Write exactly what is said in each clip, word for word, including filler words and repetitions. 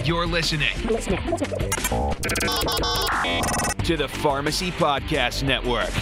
You're listening to the Pharmacy Podcast Network.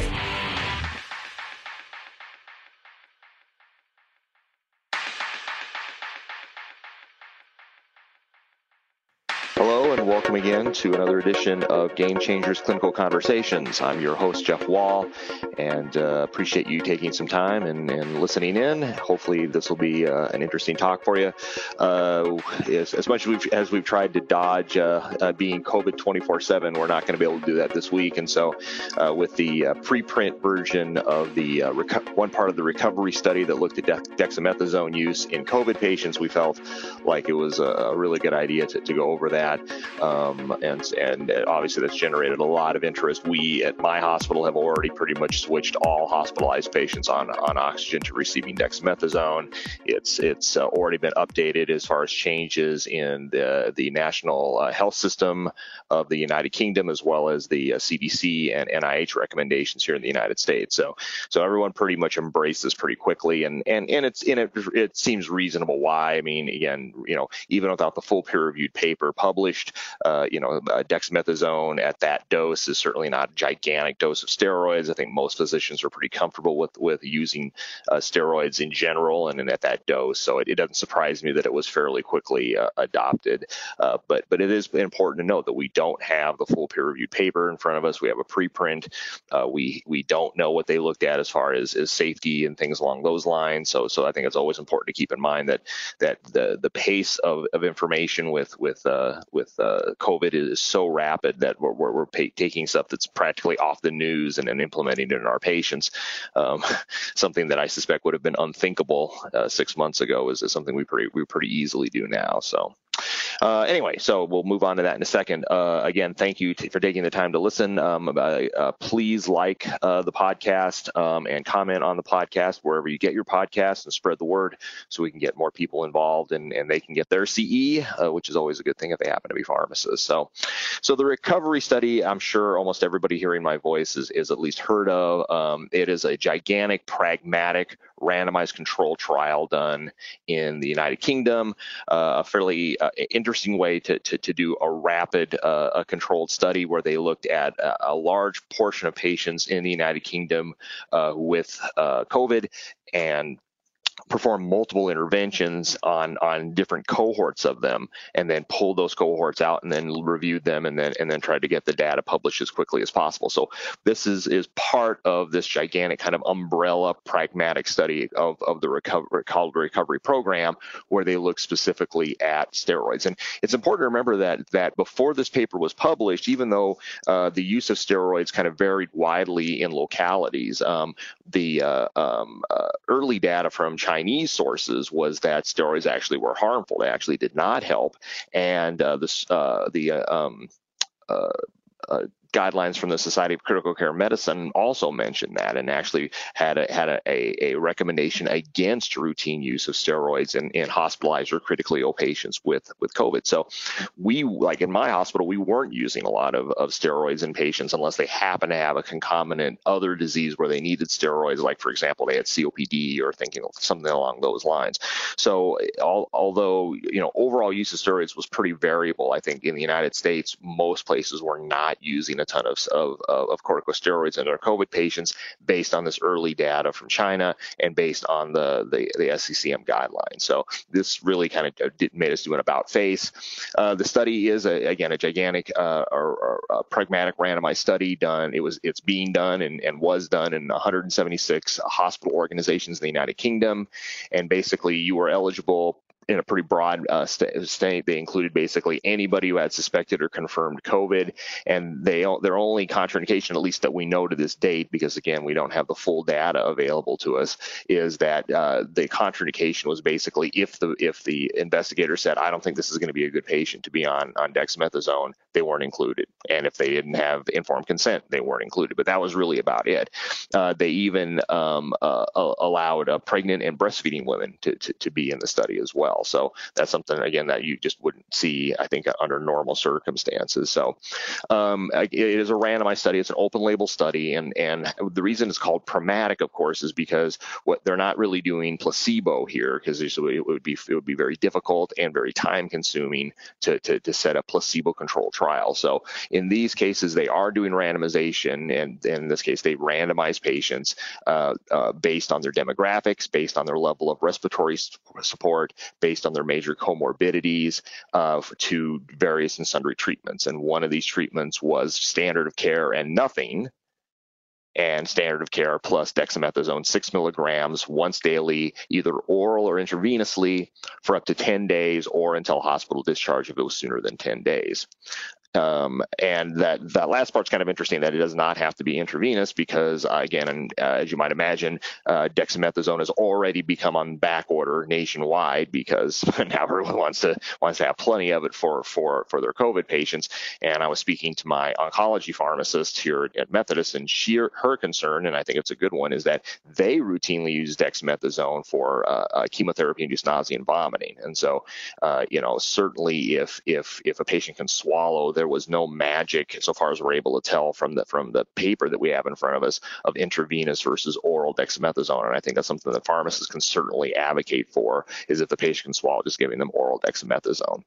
Hello and welcome again to another edition of Game Changers Clinical Conversations. I'm your host, Jeff Wall, and uh, appreciate you taking some time and, and listening in. Hopefully this will be uh, an interesting talk for you. Uh, as, as much as we've, as we've tried to dodge uh, uh, being COVID twenty-four seven, we're not going to be able to do that this week. And so uh, with the uh, preprint version of the uh, reco- one part of the recovery study that looked at de- dexamethasone use in COVID patients, we felt like it was a, a really good idea to, to go over that. Um, and, and obviously that's generated a lot of interest. We at my hospital have already pretty much switched all hospitalized patients on, on oxygen to receiving dexamethasone. It's it's uh, already been updated as far as changes in the, the national uh, health system of the United Kingdom, as well as the uh, C D C and N I H recommendations here in the United States. So so everyone pretty much embraced this pretty quickly, and and, and it's in it it seems reasonable why. I mean, again, you know, even without the full peer-reviewed paper published, uh, you know, uh, dexamethasone at that dose is certainly not a gigantic dose of steroids. I think most physicians are pretty comfortable with with using uh, steroids in general and, and at that dose. So it, it doesn't surprise me that it was fairly quickly uh, adopted. Uh, but but it is important to note that we don't have the full peer-reviewed paper in front of us. We have a preprint. Uh, we we don't know what they looked at as far as, as safety and things along those lines. So so I think it's always important to keep in mind that that the the pace of, of information with with uh, with uh, COVID is so rapid that we're, we're, we're pay, taking stuff that's practically off the news and then implementing it in our patients. Um, something that I suspect would have been unthinkable uh, six months ago is, is something we pretty we pretty easily do now. So. Uh, anyway, so we'll move on to that in a second. Uh, again, thank you t- for taking the time to listen. Um, uh, uh, please like uh, the podcast um, and comment on the podcast wherever you get your podcast and spread the word so we can get more people involved and, and they can get their C E, uh, which is always a good thing if they happen to be pharmacists. So, so the recovery study, I'm sure almost everybody hearing my voice is, is at least heard of. Um, it is a gigantic, pragmatic, randomized control trial done in the United Kingdom, uh, a fairly uh, interesting way to, to, to do a rapid uh, a controlled study where they looked at a, a large portion of patients in the United Kingdom uh, with uh, COVID and perform multiple interventions on on different cohorts of them, and then pull those cohorts out and then reviewed them and then and then tried to get the data published as quickly as possible. So this is is part of this gigantic kind of umbrella pragmatic study of, of the recovery called recovery program, where they look specifically at steroids. And it's important to remember that that before this paper was published, even though uh, the use of steroids kind of varied widely in localities, um, the uh, um, uh, early data from Chinese sources was that steroids actually were harmful. They actually did not help. And uh, this, uh, the uh, um, uh, uh, guidelines from the Society of Critical Care Medicine also mentioned that, and actually had a, had a, a, a recommendation against routine use of steroids in, in hospitalized or critically ill patients with, with COVID. So we, like in my hospital, we weren't using a lot of, of steroids in patients unless they happen to have a concomitant other disease where they needed steroids, like, for example, they had C O P D or thinking of something along those lines. So all, although, you know, overall use of steroids was pretty variable, I think in the United States, most places were not using a ton of, of, of corticosteroids in their COVID patients based on this early data from China and based on the, the, the S C C M guidelines. So this really kind of did, made us do an about face. Uh, the study is, a, again, a gigantic uh, or, or a pragmatic randomized study done. It was, it's being done and, and was done in one hundred seventy-six hospital organizations in the United Kingdom. And basically you were eligible in a pretty broad uh, st- state. They included basically anybody who had suspected or confirmed COVID, and they their only contraindication, at least that we know to this date, because again we don't have the full data available to us, is that uh, the contraindication was basically if the if the investigator said, I don't think this is going to be a good patient to be on on dexamethasone, they weren't included, and if they didn't have informed consent, they weren't included. But that was really about it. Uh, they even um, uh, allowed uh, pregnant and breastfeeding women to, to to be in the study as well. well. So that's something, again, that you just wouldn't see, I think, under normal circumstances. So um, it is a randomized study. It's an open label study. And, and the reason it's called pragmatic, of course, is because what they're not really doing placebo here, because it would be it would be very difficult and very time consuming to, to, to set up placebo controlled trial. So in these cases, they are doing randomization, and, and in this case, they randomize patients uh, uh, based on their demographics, based on their level of respiratory support, based on their major comorbidities uh, to various and sundry treatments. And one of these treatments was standard of care and nothing, and standard of care plus dexamethasone six milligrams once daily, either oral or intravenously, for up to ten days or until hospital discharge if it was sooner than ten days. Um, and that, that last part's kind of interesting, that it does not have to be intravenous because, uh, again, and, uh, as you might imagine, uh, dexamethasone has already become on back order nationwide because now everyone wants to wants to have plenty of it for, for, for their COVID patients. And I was speaking to my oncology pharmacist here at Methodist, and she, her concern, and I think it's a good one, is that they routinely use dexamethasone for uh, uh, chemotherapy-induced nausea and vomiting. And so, uh, you know, certainly if if if a patient can swallow, there was no magic, so far as we're able to tell from the from the paper that we have in front of us, of intravenous versus oral dexamethasone. And I think that's something that pharmacists can certainly advocate for, is if the patient can swallow, just giving them oral dexamethasone.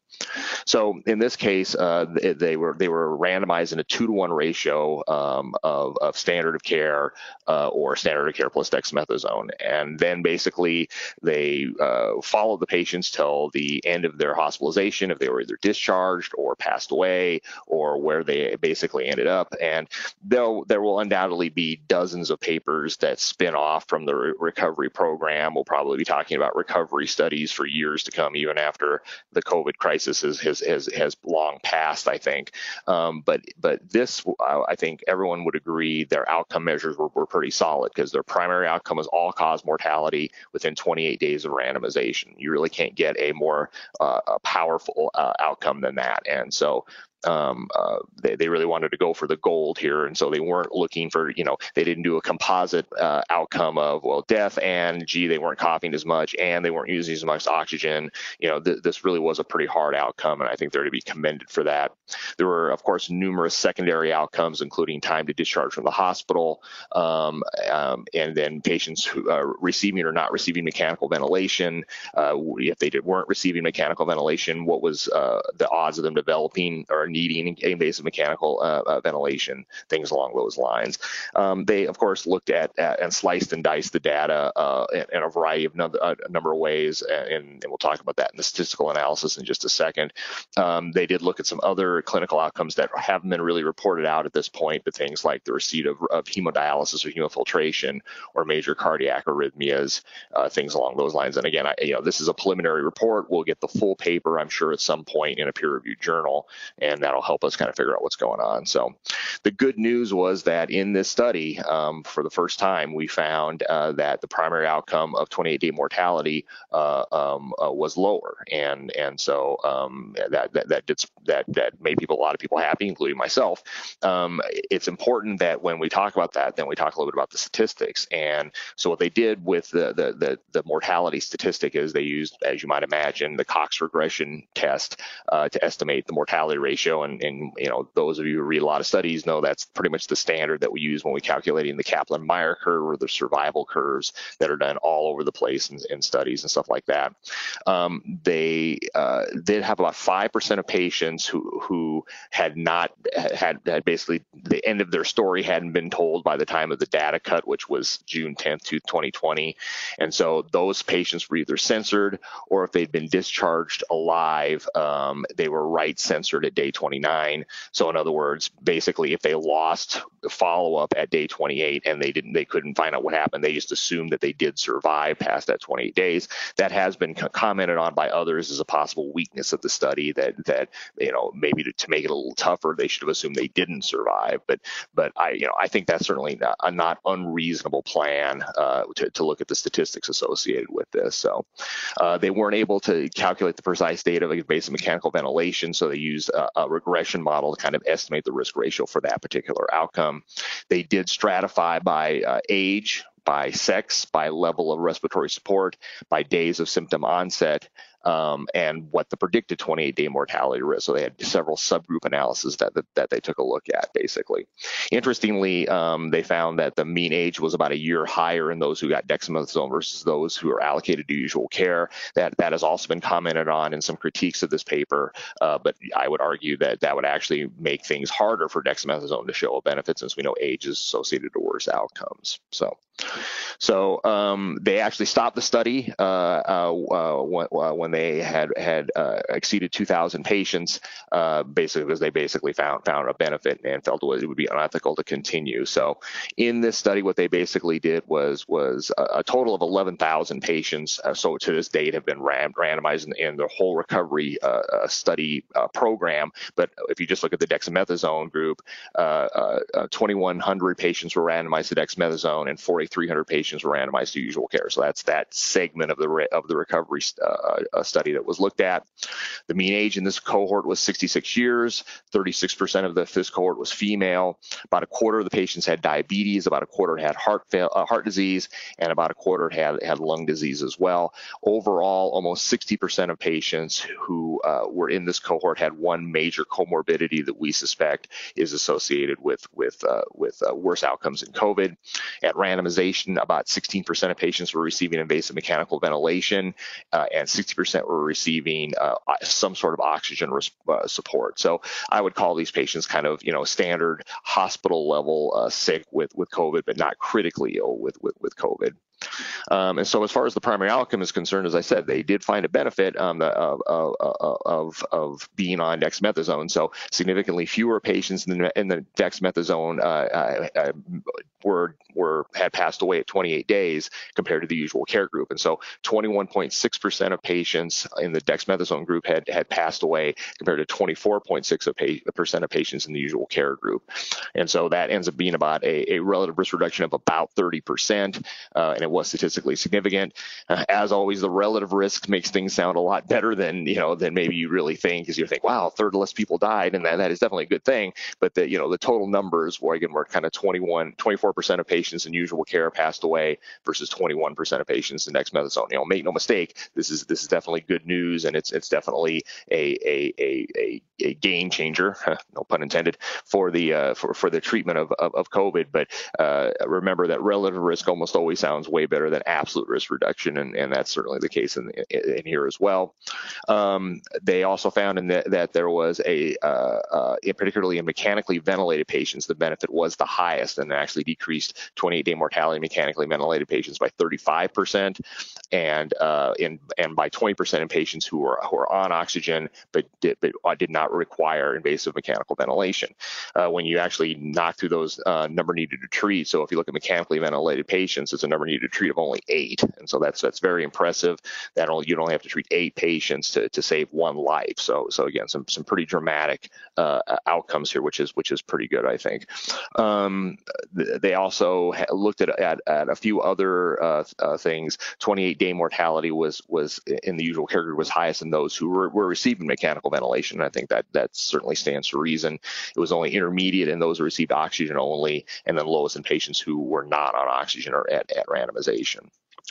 So in this case, uh, they, they were they were randomized in a two to one ratio um, of, of standard of care uh, or standard of care plus dexamethasone, and then basically they uh, followed the patients till the end of their hospitalization, if they were either discharged or passed away, or where they basically ended up. And though there will undoubtedly be dozens of papers that spin off from the re- recovery program, we'll probably be talking about recovery studies for years to come, even after the COVID crisis has has has, has long passed, I think. Um, but but this, I think everyone would agree, their outcome measures were, were pretty solid, because their primary outcome was all-cause mortality within twenty-eight days of randomization. You really can't get a more uh, a powerful uh, outcome than that. And so Um, uh, they, they really wanted to go for the gold here. And so they weren't looking for, you know, they didn't do a composite uh, outcome of, well, death and, gee, they weren't coughing as much and they weren't using as much oxygen. You know, th- this really was a pretty hard outcome, and I think they're to be commended for that. There were, of course, numerous secondary outcomes, including time to discharge from the hospital, um, um, and then patients who are receiving or not receiving mechanical ventilation. Uh, if they did, weren't receiving mechanical ventilation, what was uh, the odds of them developing or needing invasive mechanical uh, uh, ventilation, things along those lines. Um, they, of course, looked at, at and sliced and diced the data uh, in, in a variety of no, a number of ways, and, and we'll talk about that in the statistical analysis in just a second. Um, they did look at some other clinical outcomes that haven't been really reported out at this point, but things like the receipt of, of hemodialysis or hemofiltration or major cardiac arrhythmias, uh, things along those lines. And again, I, you know, this is a preliminary report. We'll get the full paper, I'm sure, at some point in a peer-reviewed journal, and that'll help us kind of figure out what's going on. So the good news was that in this study, um, for the first time, we found uh, that the primary outcome of twenty-eight day mortality uh, um, uh, was lower. And and so um, that, that, that, did, that, that made people, a lot of people happy, including myself. Um, it's important that when we talk about that, then we talk a little bit about the statistics. And so what they did with the, the, the, the mortality statistic is they used, as you might imagine, the Cox regression test uh, to estimate the mortality ratio. And, and, you know, those of you who read a lot of studies know that's pretty much the standard that we use when we calculating the Kaplan-Meier curve or the survival curves that are done all over the place in, in studies and stuff like that. Um, they uh, did have about five percent of patients who who had not had, had basically the end of their story hadn't been told by the time of the data cut, which was June tenth, twenty twenty. And so those patients were either censored, or if they'd been discharged alive, um, they were right censored at day twenty-nine. So in other words, basically, if they lost follow-up at day twenty-eight and they didn't, they couldn't find out what happened, they just assumed that they did survive past that twenty-eight days. That has been commented on by others as a possible weakness of the study, that that you know maybe to, to make it a little tougher, they should have assumed they didn't survive. But but I you know I think that's certainly not, a not unreasonable plan uh, to to look at the statistics associated with this. So uh, they weren't able to calculate the precise data based on mechanical ventilation, so they used a, a regression model to kind of estimate the risk ratio for that particular outcome. They did stratify by uh, age, by sex, by level of respiratory support, by days of symptom onset, um, and what the predicted twenty-eight day mortality risk. So they had several subgroup analyses that, that, that they took a look at, basically. Interestingly, um, they found that the mean age was about a year higher in those who got dexamethasone versus those who are allocated to usual care. That, that has also been commented on in some critiques of this paper, uh, but I would argue that that would actually make things harder for dexamethasone to show a benefit, since we know age is associated to worse outcomes. So, so um, they actually stopped the study uh, uh, uh, when, uh, when they had had uh, exceeded two thousand patients, uh, basically because they basically found found a benefit and felt it would be unethical to continue. So, in this study, what they basically did was was a, a total of eleven thousand patients. Uh, so to this date, have been ran, randomized in, in the whole recovery uh, uh, study uh, program. But if you just look at the dexamethasone group, uh, uh, uh, twenty-one hundred patients were randomized to dexamethasone, and forty-three hundred patients were randomized to usual care. So that's that segment of the re of the recovery uh, uh, study that was looked at. The mean age in this cohort was sixty-six years. thirty-six percent of the, this cohort was female. About a quarter of the patients had diabetes. About a quarter had heart fail, uh, heart disease, and about a quarter had had lung disease as well. Overall, almost sixty percent of patients who uh, were in this cohort had one major comorbidity that we suspect is associated with with uh, with uh, worse outcomes in COVID. At randomization, about sixteen percent of patients were receiving invasive mechanical ventilation, uh, and sixty percent were receiving uh, some sort of oxygen uh, support. So I would call these patients kind of, you know, standard hospital level uh, sick with with COVID, but not critically ill with with, with COVID. Um, and so as far as the primary outcome is concerned, as I said, they did find a benefit um, of, of, of, of being on dexamethasone. So significantly fewer patients in the, in the dexamethasone uh, uh, were, were had passed away at twenty-eight days compared to the usual care group. And so twenty-one point six percent of patients in the dexamethasone group had, had passed away compared to twenty-four point six percent of patients in the usual care group. And so that ends up being about a, a relative risk reduction of about thirty percent, uh, and it was statistically significant. Uh, as always, the relative risk makes things sound a lot better than, you know, than maybe you really think, because you think, wow, a third less people died, and that, that is definitely a good thing. But the, you know, the total numbers were, again, were kind of twenty-one, twenty-four percent of patients in usual care passed away versus twenty-one percent of patients in dexamethasone. You know, make no mistake, this is this is definitely good news, and it's it's definitely a a a a, a game changer, no pun intended, for the uh, for for the treatment of of, of COVID. But uh, remember that relative risk almost always sounds way better than absolute risk reduction, and, and that's certainly the case in, in, in here as well. Um, they also found in the, that there was a, uh, uh, in particularly in mechanically ventilated patients, the benefit was the highest, and actually decreased twenty-eight day mortality in mechanically ventilated patients by thirty-five percent, and uh, in and by twenty percent in patients who were who are on oxygen but did, but did not require invasive mechanical ventilation. Uh, when you actually knock through those uh, number needed to treat, so if you look at mechanically ventilated patients, it's a number needed to treat of only eight, and so that's that's very impressive. That only you'd only have to treat eight patients to, to save one life. So so again, some some pretty dramatic uh, outcomes here, which is which is pretty good, I think. Um, they also looked at, at at a few other uh, uh, things. twenty-eight day mortality was was in the usual care group was highest in those who were, were receiving mechanical ventilation. And I think that that certainly stands to reason. It was only intermediate in those who received oxygen only, and then lowest in patients who were not on oxygen or at, at randomization.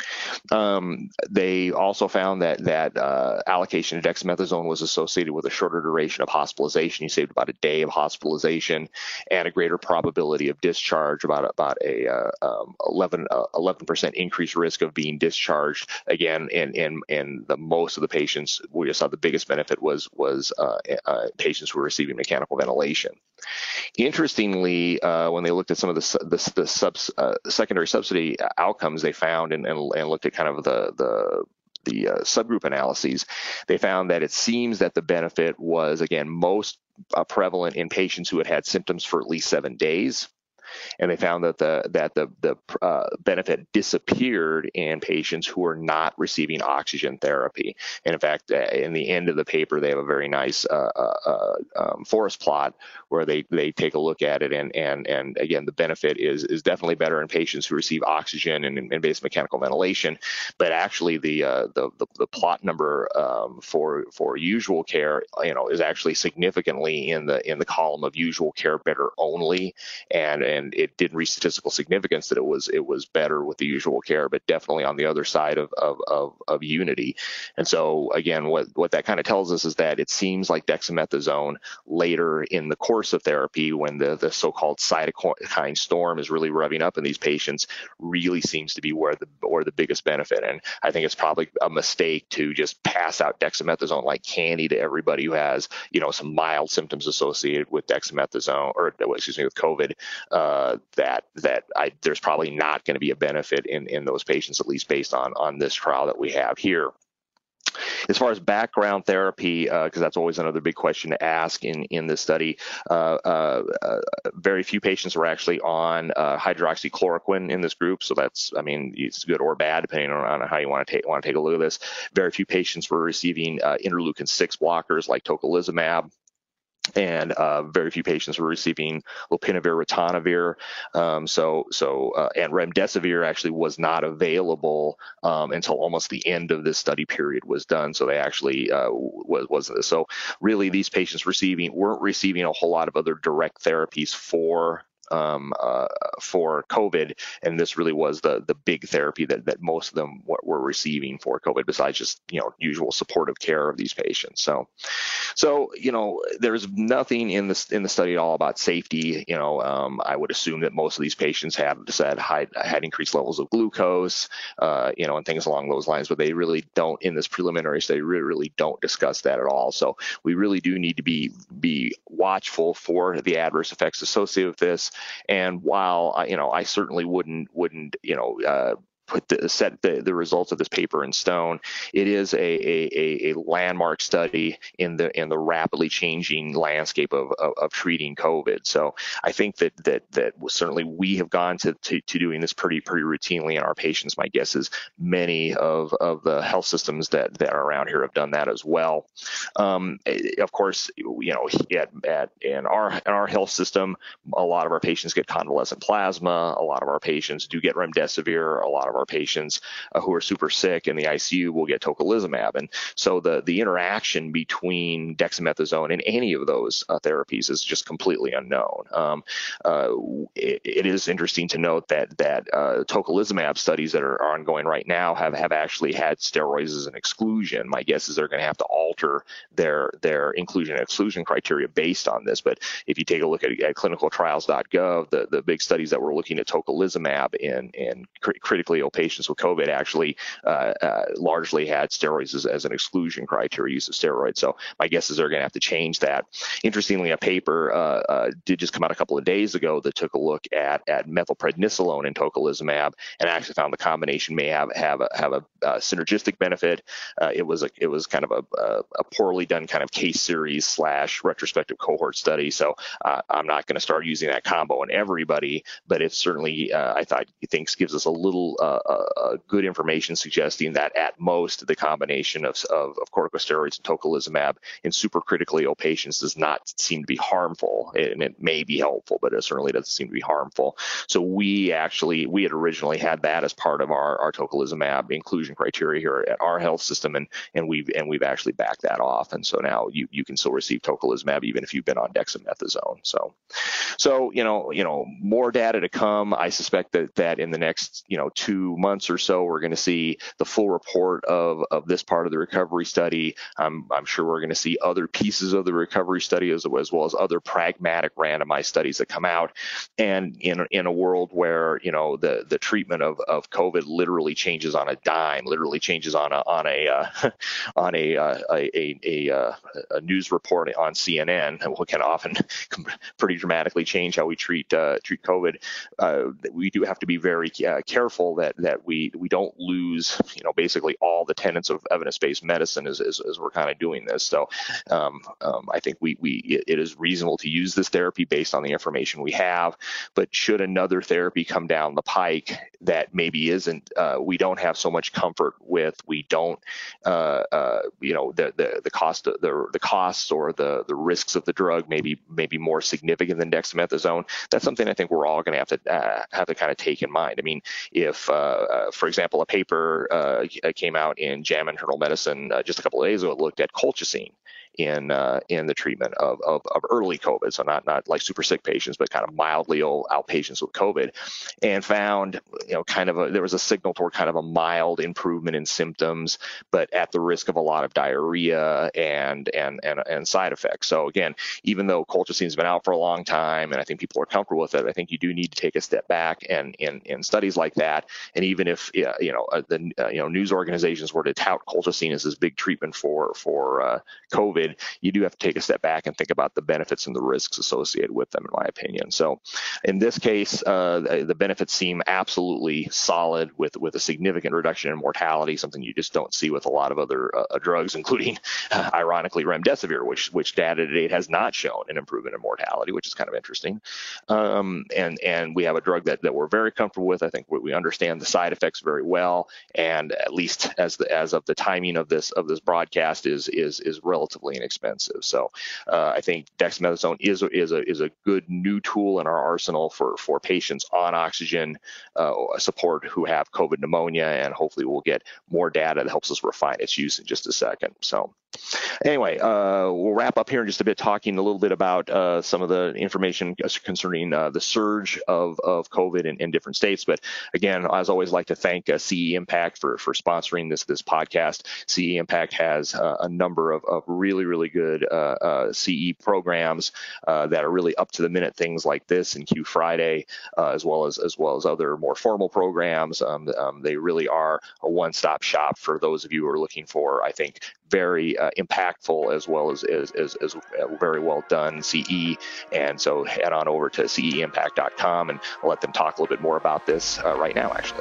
Um, they also found that that uh, allocation of dexamethasone was associated with a shorter duration of hospitalization. You saved about a day of hospitalization, and a greater probability of discharge, about about a uh, um, eleven percent increased risk of being discharged. Again, in in in the most of the patients, we just saw the biggest benefit was was uh, uh, patients who were receiving mechanical ventilation. Interestingly, uh, when they looked at some of the the, the subs, uh, secondary subsidy outcomes, they found and, and and looked at kind of the the the uh, subgroup analyses, they found that it seems that the benefit was, again, most uh, prevalent in patients who had had symptoms for at least seven days. And they found that the that the the uh, benefit disappeared in patients who are not receiving oxygen therapy. And in fact, uh, in the end of the paper, they have a very nice uh, uh, um, forest plot where they they take a look at it, and and and again, the benefit is is definitely better in patients who receive oxygen and invasive mechanical ventilation. But actually, the uh, the, the the plot number um, for for usual care, you know, is actually significantly in the in the column of usual care better only, and and it didn't reach statistical significance that it was it was better with the usual care, but definitely on the other side of of of, of Unity. And so again, what what that kind of tells us is that it seems like dexamethasone later in the course of therapy, when the the so-called cytokine storm is really revving up in these patients, really seems to be where the or the biggest benefit. And I think it's probably a mistake to just pass out dexamethasone like candy to everybody who has, you know, some mild symptoms associated with dexamethasone, or excuse me, with COVID. Uh, that that I, there's probably not going to be a benefit in in those patients, at least based on on this trial that we have here. As far as background therapy, because uh, that's always another big question to ask in, in this study, uh, uh, uh, very few patients were actually on uh, hydroxychloroquine in this group. So that's, I mean, it's good or bad, depending on, on how you want to take want to take a look at this. Very few patients were receiving uh, interleukin six blockers like tocilizumab. And uh, very few patients were receiving lopinavir, ritonavir. Um, so, so, uh, and remdesivir actually was not available um, until almost the end of this study period was done. So they actually uh, was wasn't. So really, these patients receiving weren't receiving a whole lot of other direct therapies for. Um, uh, for COVID, and this really was the the big therapy that, that most of them w- were receiving for COVID, besides just, you know, usual supportive care of these patients. So, so you know, there's nothing in this in the study at all about safety. You know, um, I would assume that most of these patients had said had, had increased levels of glucose, uh, you know, and things along those lines, but they really don't in this preliminary study really really don't discuss that at all. So we really do need to be be watchful for the adverse effects associated with this. And while, you know, I certainly wouldn't, wouldn't, you know, uh, put the, set the, the results of this paper in stone. It is a, a, a landmark study in the in the rapidly changing landscape of, of, of treating COVID. So I think that that that certainly we have gone to, to, to doing this pretty pretty routinely in our patients. My guess is many of, of the health systems that, that are around here have done that as well. Um, of course, you know, at, at in our in our health system, a lot of our patients get convalescent plasma. A lot of our patients do get remdesivir. A lot of our patients uh, who are super sick in the I C U will get tocilizumab. And so the, the interaction between dexamethasone and any of those uh, therapies is just completely unknown. Um, uh, it, it is interesting to note that that uh, tocilizumab studies that are ongoing right now have, have actually had steroids as an exclusion. My guess is they're going to have to alter their their inclusion and exclusion criteria based on this. But if you take a look at, at clinical trials dot gov, the, the big studies that were looking at tocilizumab in, in cr- critically ill patients with COVID actually uh, uh, largely had steroids as, as an exclusion criteria, use of steroids. So my guess is they're going to have to change that. Interestingly, a paper uh, uh, did just come out a couple of days ago that took a look at, at methylprednisolone and tocilizumab, and actually found the combination may have have a, have a uh, synergistic benefit. Uh, it was a, it was kind of a, a, a poorly done kind of case series slash retrospective cohort study. So uh, I'm not going to start using that combo in everybody, but it certainly uh, I thought thinks gives us a little uh, uh, good information suggesting that at most the combination of, of, of corticosteroids and tocilizumab in supercritically ill patients does not seem to be harmful, and it may be helpful, but it certainly doesn't seem to be harmful. So we actually we had originally had that as part of our, our tocilizumab inclusion criteria here at our health system, and and we've and we've actually backed that off, and so now you you can still receive tocilizumab even if you've been on dexamethasone. So so you know you know more data to come. I suspect that that in the next you know two months or so we're going to see the full report of of this part of the recovery study. I'm I'm sure we're going to see other pieces of the recovery study as, as well as other pragmatic randomized studies that come out. And in in a world where you know the the treatment of, of COVID literally changes on a dime, literally changes on a on a uh, on a, uh, a a a uh, a news report on C N N, what can often pretty dramatically change how we treat uh, treat COVID. Uh, we do have to be very uh, careful that that we we don't lose you know basically all the tenets of evidence-based medicine as as, as we're kind of doing this. So um, um, I think we we it, it is reasonable to use this therapy based on the information we have. But should another therapy come down the pike that maybe isn't, uh, we don't have so much comfort with, we don't, uh, uh, you know, the the the cost of the the costs or the the risks of the drug maybe maybe more significant than dexamethasone. That's something I think we're all going to have to uh, have to kind of take in mind. I mean, if, uh, uh, for example, a paper uh, came out in JAMA Internal Medicine uh, just a couple of days ago that looked at colchicine in uh, in the treatment of, of, of early COVID, so not not like super sick patients, but kind of mildly ill outpatients with COVID, and found you know kind of a, there was a signal toward kind of a mild improvement in symptoms, but at the risk of a lot of diarrhea and and and, and side effects. So again, even though colchicine has been out for a long time, and I think people are comfortable with it, I think you do need to take a step back. And in in studies like that, and even if uh, you know uh, the uh, you know news organizations were to tout colchicine as this big treatment for for uh, COVID, you do have to take a step back and think about the benefits and the risks associated with them, in my opinion. So in this case, uh, the benefits seem absolutely solid, with with a significant reduction in mortality, something you just don't see with a lot of other uh, drugs, including uh, ironically remdesivir, which which data to date has not shown an improvement in mortality, which is kind of interesting. Um, and and we have a drug that, that we're very comfortable with. I think we, we understand the side effects very well, and at least as the as of the timing of this of this broadcast is is is relatively inexpensive. So uh, I think dexamethasone is is a is a good new tool in our arsenal for for patients on oxygen uh, support who have COVID pneumonia, and hopefully we'll get more data that helps us refine its use in just a second. So anyway, uh, we'll wrap up here in just a bit, talking a little bit about uh, some of the information concerning uh, the surge of, of COVID in, in different states. But again, as always, like to thank uh, C E Impact for, for sponsoring this this podcast. C E Impact has uh, a number of, of really, really good uh, uh, C E programs uh, that are really up to the minute, things like this and Q Friday, uh, as well as as well as other more formal programs. Um, um, they really are a one-stop shop for those of you who are looking for, I think, very uh, impactful as well as, as, as, as very well done C E. And so head on over to C E impact dot com, and I'll let them talk a little bit more about this uh, right now, actually.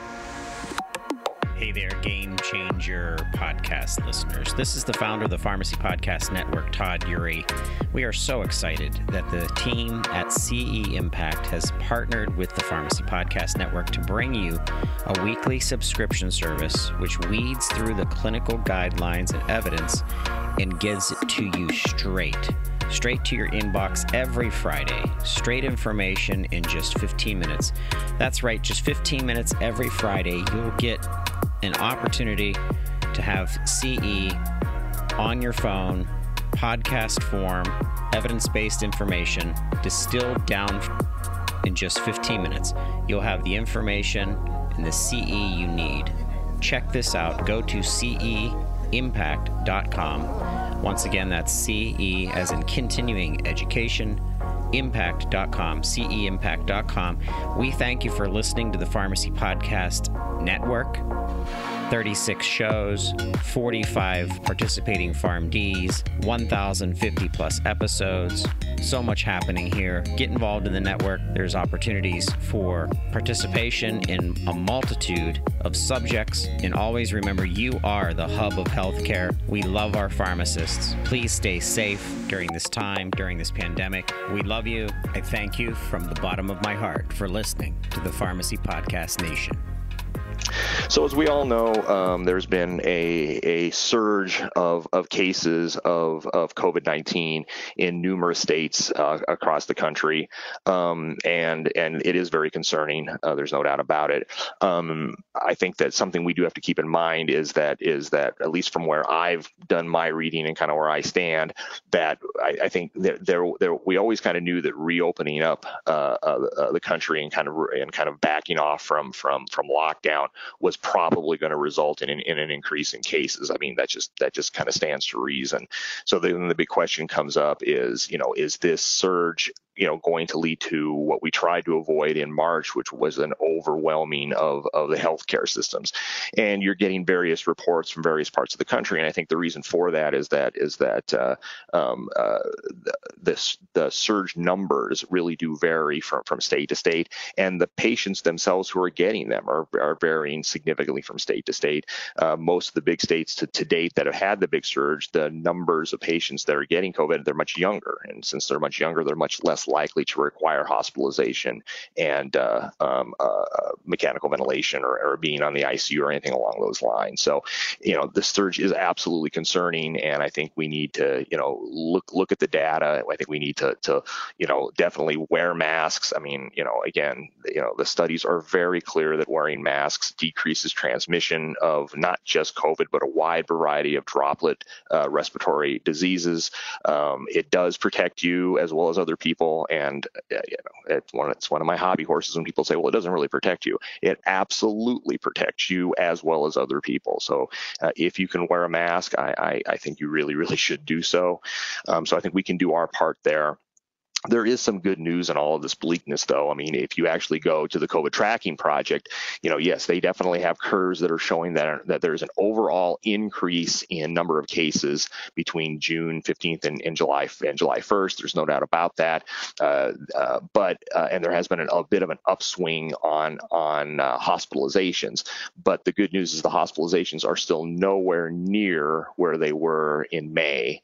Hey there, Game Changer podcast listeners. This is the founder of the Pharmacy Podcast Network, Todd Eury. We are so excited that the team at C E Impact has partnered with the Pharmacy Podcast Network to bring you a weekly subscription service which weeds through the clinical guidelines and evidence and gives it to you straight. Straight to your inbox every Friday. Straight information in just fifteen minutes. That's right, just fifteen minutes every Friday. You'll get an opportunity to have C E on your phone, podcast form, evidence-based information distilled down in just fifteen minutes. You'll have the information and the C E you need. Check this out. Go to C E impact dot com. Once again, that's C E as in continuing education, impact dot com, C E impact dot com. We thank you for listening to the Pharmacy Podcast Network. thirty-six shows, forty-five participating PharmDs, one thousand fifty plus episodes. So much happening here. Get involved in the network. There's opportunities for participation in a multitude of subjects. And always remember, you are the hub of healthcare. We love our pharmacists. Please stay safe during this time, during this pandemic. We love you. I thank you from the bottom of my heart for listening to the Pharmacy Podcast Nation. So as we all know, um, there's been a, a surge of, of cases of, of COVID nineteen in numerous states uh, across the country, um, and and it is very concerning. Uh, there's no doubt about it. Um, I think that something we do have to keep in mind is that is that at least from where I've done my reading and kind of where I stand, that I, I think that there, there we always kind of knew that reopening up uh, uh, the country and kind of and kind of backing off from from from lockdown was probably going to result in an, in an increase in cases. I mean, that just that just kind of stands to reason. So then the big question comes up is, you know, is this surge, you know, going to lead to what we tried to avoid in March, which was an overwhelming of, of the healthcare systems? And you're getting various reports from various parts of the country. And I think the reason for that is that is that uh, um, uh, the, this, the surge numbers really do vary from, from state to state. And the patients themselves who are getting them are, are varying significantly from state to state. Uh, most of the big states to, to date that have had the big surge, the numbers of patients that are getting COVID, they're much younger. And since they're much younger, they're much less less likely to require hospitalization and uh, um, uh, mechanical ventilation or, or being on the I C U or anything along those lines. So, you know, the surge is absolutely concerning, and I think we need to, you know, look look at the data. I think we need to, to you know, definitely wear masks. I mean, you know, again, you know, the studies are very clear that wearing masks decreases transmission of not just COVID, but a wide variety of droplet uh, respiratory diseases. Um, it does protect you as well as other people, and uh, you know, it's one it's one of my hobby horses when people say, well, it doesn't really protect you. It absolutely protects you as well as other people. So uh, if you can wear a mask, I, I, I think you really, really should do so. Um, so I think we can do our part there. There is some good news in all of this bleakness, though. I mean, if you actually go to the COVID tracking project, you know, yes, they definitely have curves that are showing that, that there's an overall increase in number of cases between June fifteenth and, and July and July first. There's no doubt about that. Uh, uh, but uh, and there has been an, a bit of an upswing on on uh, hospitalizations. But the good news is the hospitalizations are still nowhere near where they were in May,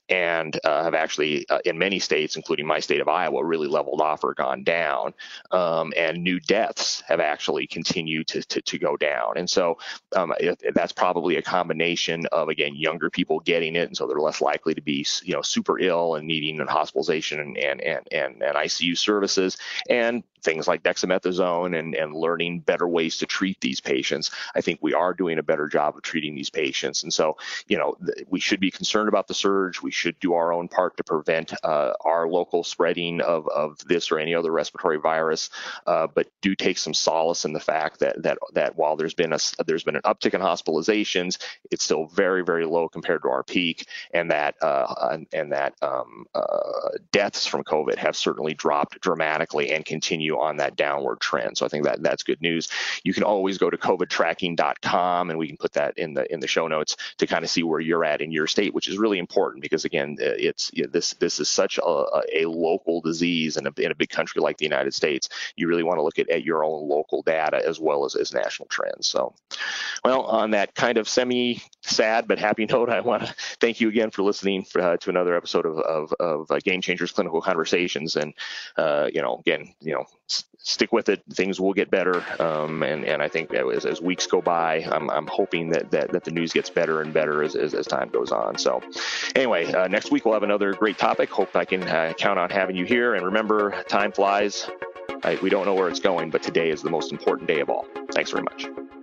and uh, have actually, uh, in many states, including my state of Iowa, really leveled off or gone down. Um, and new deaths have actually continued to, to, to go down. And so um, it, that's probably a combination of, again, younger people getting it, and so they're less likely to be, you know, super ill and needing hospitalization and, and, and, and, and I C U services, and things like dexamethasone and, and learning better ways to treat these patients. I think we are doing a better job of treating these patients. And so, you know, th- we should be concerned about the surge. We should do our own part to prevent uh, our local spreading of, of this or any other respiratory virus. Uh, but do take some solace in the fact that that that while there's been a there's been an uptick in hospitalizations, it's still very, very low compared to our peak, and that uh, and, and that um, uh, deaths from COVID have certainly dropped dramatically and continue on that downward trend. So I think that that's good news. You can always go to covid tracking dot com, and we can put that in the in the show notes to kind of see where you're at in your state, which is really important because, again, it's you know, this this is such a, a local disease in a, in a big country like the United States. You really want to look at, at your own local data as well as, as national trends. So, well, on that kind of semi-sad but happy note, I want to thank you again for listening for, uh, to another episode of, of, of uh, Game Changers Clinical Conversations. And, uh, you know, again, you know, stick with it. Things will get better. Um, and, and I think as, as weeks go by, I'm, I'm hoping that, that, that the news gets better and better as, as, as time goes on. So anyway, uh, next week we'll have another great topic. Hope I can uh, count on having you here. And remember, time flies. I, we don't know where it's going, but today is the most important day of all. Thanks very much.